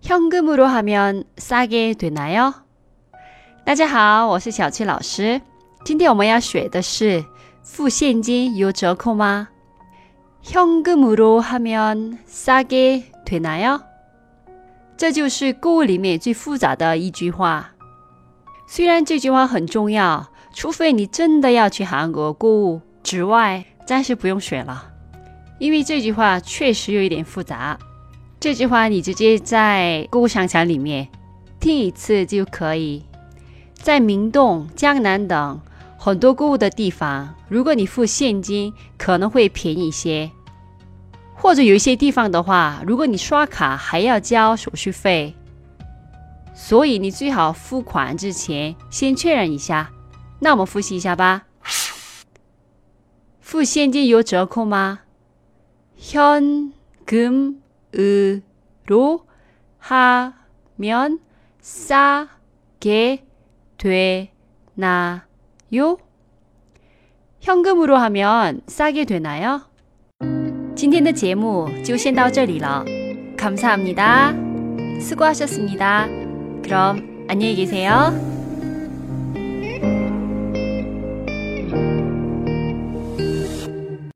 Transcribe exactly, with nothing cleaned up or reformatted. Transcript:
현금으로 하면 싸게 되나요? 大家好，我是小七老师。今天我们要学的是付现金有折扣吗？ 현금으로 하면 싸게 되나요? 这就是购物里面最复杂的一句话。虽然这句话很重要，除非你真的要去韩国购物之外，暂时不用学了，因为这句话确实有一点复杂。这句话你直接在购物商场里面听一次就可以。在明洞、江南等很多购物的地方，如果你付现金可能会便宜一些，或者有一些地方的话，如果你刷卡还要交手续费，所以你最好付款之前先确认一下。那我们复习一下吧。付现金有折扣吗？ 현금으로 하면 싸게 되나요? 현금으로 하면 싸게 되나요? 今天的节目就先到这里了。 감사합니다. 수고하셨습니다. 그럼 안녕히 계세요.